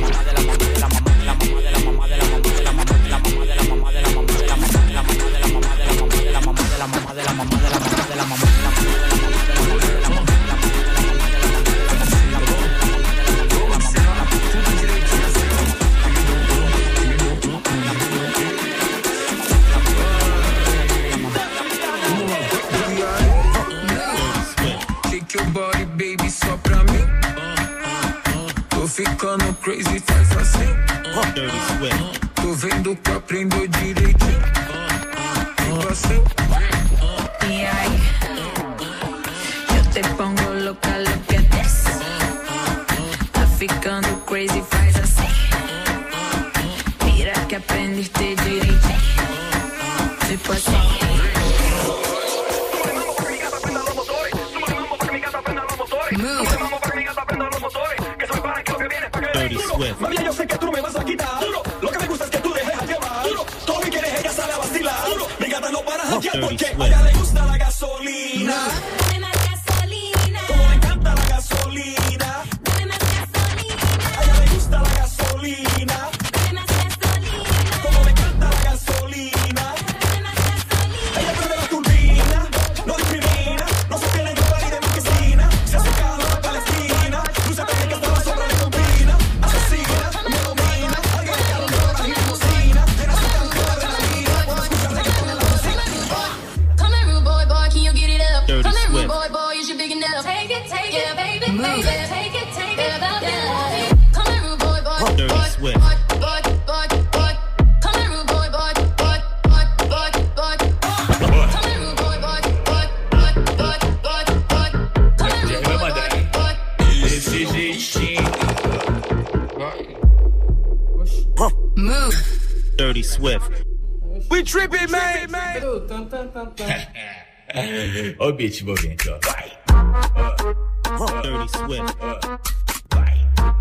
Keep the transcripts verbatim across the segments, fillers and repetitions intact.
ficando crazy, faz assim. Dirty Swift. Tô vendo que aprendeu direitinho. Fico assim. Y ahí, yo te pongo loca, lo que des. Tá ficando crazy, faz assim. Mira que aprendiste direitinho. Tipo assim. Dirty Swift. Mami, yo sé que tú me vas a quitar. Duro. Lo que me gusta es que tú dejes a llevar. Duro. Todo lo que quieres ella sale a vacilar. Duro. Mi gata no para hackear porque a ella le gusta la gasolina. Dame más gasolina. Como le encanta la gasolina. Dame más gasolina. A ella le gusta la gasolina. Dame más gasolina. Como le encanta la gasolina. Dame más gasolina. Ella prende la turbina. No discrimina. No se tiene en ropa ni de marquesina. Se hace calor en Palestina. Luce también que estaba sobre la combina. Asesina, me domina. Alguien que lo llora y limosina. Llena su tanque de adrenalina. Dirty Swift. We tripping, man. Ó o beat envolvente, ó. Vai. Dirty Swift. Vai.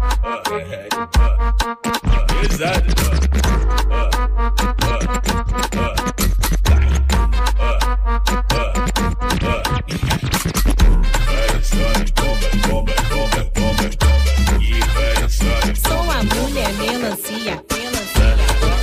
Pesado, Sou a mulher melancia, melancia.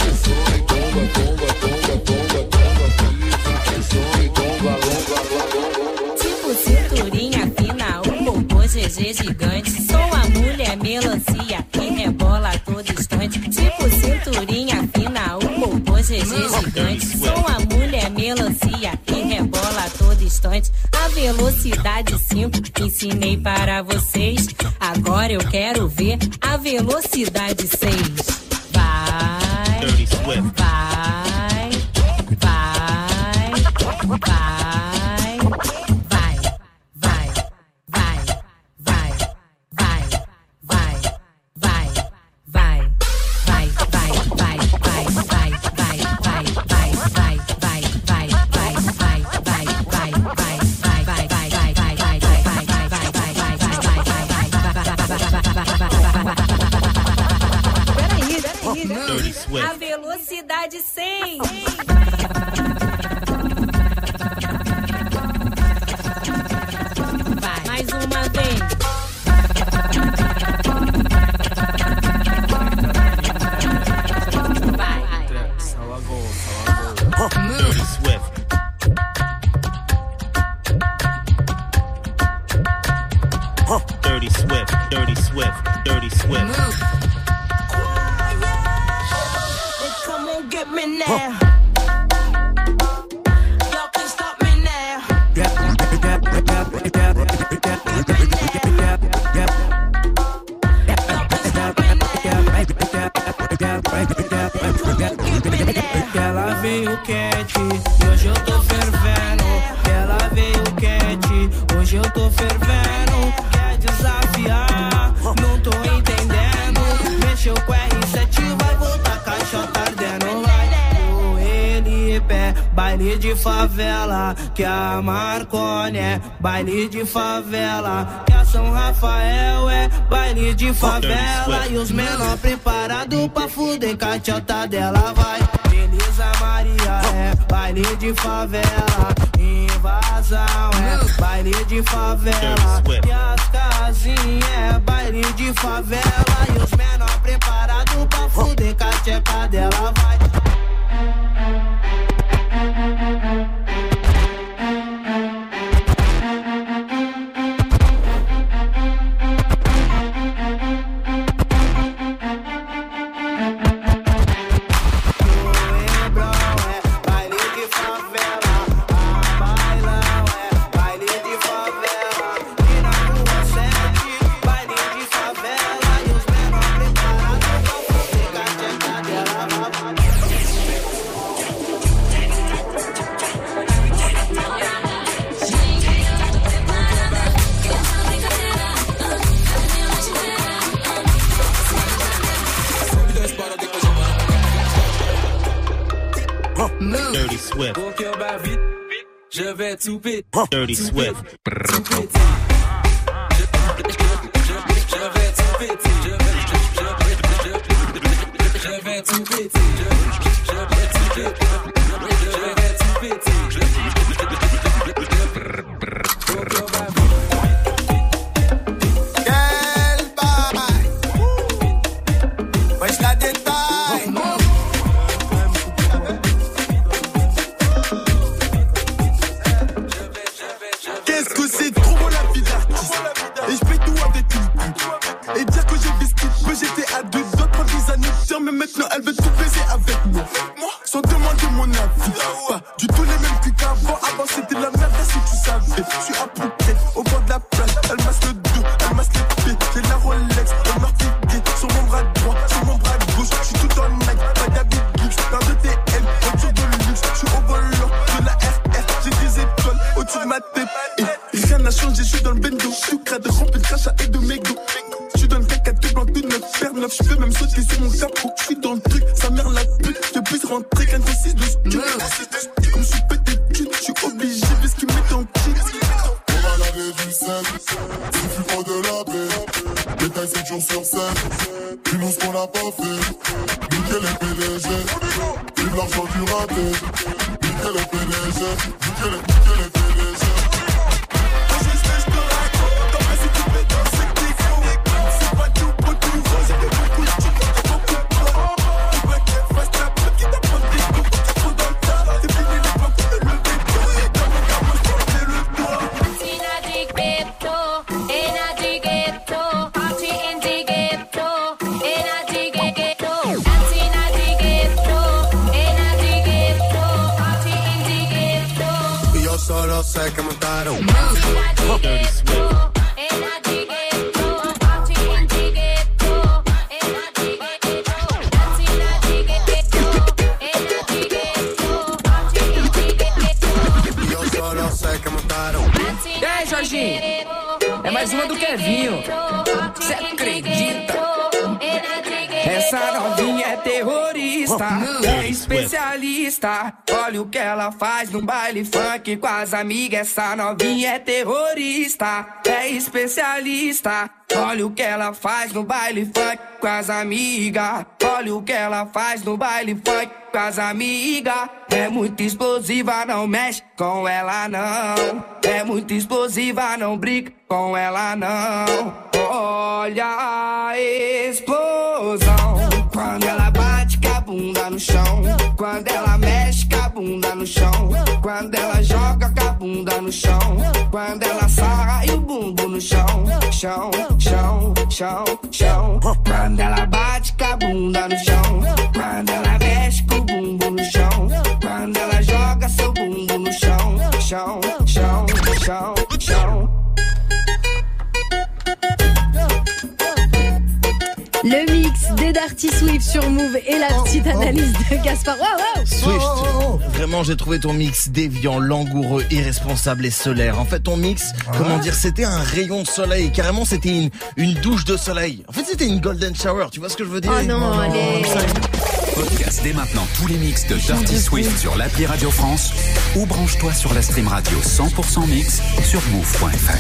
Tipo cinturinha fina, o popô G G gigante. Sou a mulher melancia que rebola a todo instante. Tipo cinturinha fina, o popô G G gigante. Sou a mulher melancia que rebola a todo instante. A velocidade cinco ensinei para vocês. Agora eu quero ver a velocidade seis. Vai, Dirty Swift. vai, vai, vai. A velocidade cem. Vai, mais uma vez. Vai. Dirty Swift. Dirty Swift. Dirty Swift. Dirty Swift. Get me now. Y'all can stop me now. Yep, yep, yep, yep, yep, yep, Que ela veio quente, e hoje eu tô fervendo. Que ela veio quente, hoje eu tô fervendo. Quer desafiar, não tô entendendo. Mexeu com R sete, vai voltar caixota ardendo. Baile de favela, que a Marconi é baile de favela, que a São Rafael é baile de favela. E os menor preparado pra fuder, cachota dela vai. Beleza Maria é baile de favela, invasão é baile de favela, e as casinhas é baile de favela. E os menor preparado pra fuder, cachota dela vai. Dirty Swift. Mon cœur bat vite, je vais tout péter. Dirty Swift. Je vais tout péter. Je vais tout péter. Je vais tout péter. Quel bail. Wesh la détail. Qu'est-ce que c'est trop beau la vie d'artiste. Et je paye tout avec une pute. Et dire que j'ai fait ce qu'il peut, j'étais à deux doigts pour des années tiens, mais maintenant elle veut tout baiser avec moi. Sans demander mon avis. Pas du tout les mêmes culs qu'avant. Avant c'était de la merde, si tu savais. Je suis à Phuket, au bord de la plage. Elle masse le dos, elle masse les pieds. J'ai la Rolex, elle m'a piqué. Sur mon bras droit, sur mon bras gauche. Je suis tout en Nike, pas d'habit luxe. Paire de T M, voiture de luxe. Je suis au volant de la R R. J'ai des étoiles au-dessus de ma tête. Et rien n'a changé, je suis dans le bendo. Je suis crade, rempli de crachat et de mégots. Je suis dans le caca tout blanc, tout neuf, paire neuf. Je peux même sauter sur mon capot. Je suis dans le truc, sa mère la pute. Je puisse rentrer. rentrer qu'un de six douze. Comme je suis pété de cul, je suis obligé de ce qu'ils mettent en kit. On va laver du sel, suffit pas de laver. Détail sept jours sur sept, dis-nous ce qu'on a pas fait. Nickel les P D G, vive l'argent du raté. Nickel les P D G, nickel les, nickel les P D G. Quand je sais, je te raconte, t'en fais si tu fais dans ce qu'il faut. C'est pas tout pour tout, j'ai fait beaucoup de trucs, j'ai beaucoup de poids. Tu veux qu'elle fasse la pute qui t'apprend des coups, t'es trop dans le tas. C'est fini l'époque où le lever de dos, et dans mon cas, moi je portais le doigt. Tina di ghetto, Ena di ghetto, party in di ghetto, Ena di ghetto, Tina di ghetto, Ena di ghetto, party in di ghetto. Io solo sé che montare un Dirty Swift. Ena di ghetto, party in di ghetto, Ena di ghetto, Tina di ghetto, Ena di ghetto, party in di ghetto. Io solo sé che montare un E aí, Jorginho? É mais uma do Kevinho. Cê acredita? Essa novinha é terrorista, é especialista. Olha o que ela faz no baile funk com as amigas. Essa novinha é terrorista, é especialista. Olha o que ela faz no baile funk com as amigas. Olha o que ela faz no baile funk com as amigas. É muito explosiva, não mexe com ela não. É muito explosiva, não brinca com ela não. Olha a explosão quando ela bate com a bunda no chão. Quando ela mexe com a bunda no chão. Quando ela joga com a bunda no chão. Quando ela sarra e o bumbum no chão. Chão, chão, chão, chão. Quando ela bate com a bunda no chão. Quando ela mexe com o bumbum no chão. Quando ela joga seu bumbum no chão. Chão, chão, chão, chão. Le mix des Dirty Swift sur Move et la petite analyse de Gaspard. Wow, wow. Swift, vraiment j'ai trouvé ton mix déviant, langoureux, irresponsable et solaire. En fait ton mix, comment dire, c'était un rayon de soleil. Carrément c'était une, une douche de soleil. En fait c'était une golden shower, tu vois ce que je veux dire? Oh non, allez. Podcast dès maintenant tous les mix de Dirty Swift sur l'appli Radio France ou branche-toi sur la stream radio cent pour cent mix sur move point f r.